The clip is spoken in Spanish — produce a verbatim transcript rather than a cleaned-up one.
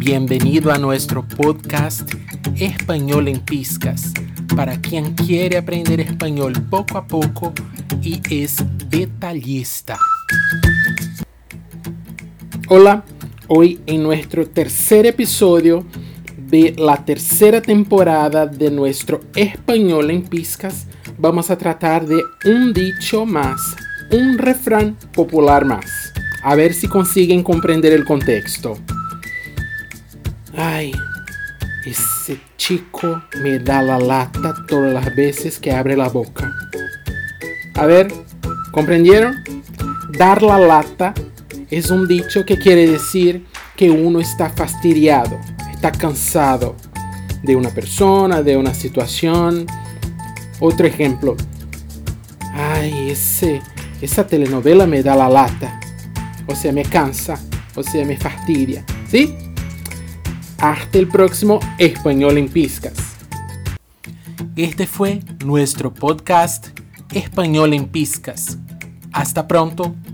Bienvenido a nuestro podcast Español en Pizcas, para quien quiere aprender español poco a poco y es detallista. Hola, hoy en nuestro tercer episodio de la tercera temporada de nuestro Español en Pizcas, vamos a tratar de un dicho más, un refrán popular más. A ver si consiguen comprender el contexto. Ay, ese chico me da la lata todas las veces que abre la boca. A ver, ¿comprendieron? Dar la lata es un dicho que quiere decir que uno está fastidiado, está cansado de una persona, de una situación. Otro ejemplo. Ay, ese, esa telenovela me da la lata. O sea, me cansa, o sea, me fastidia. ¿Sí? Hasta el próximo Español en Pizcas. Este fue nuestro podcast Español en Pizcas. Hasta pronto.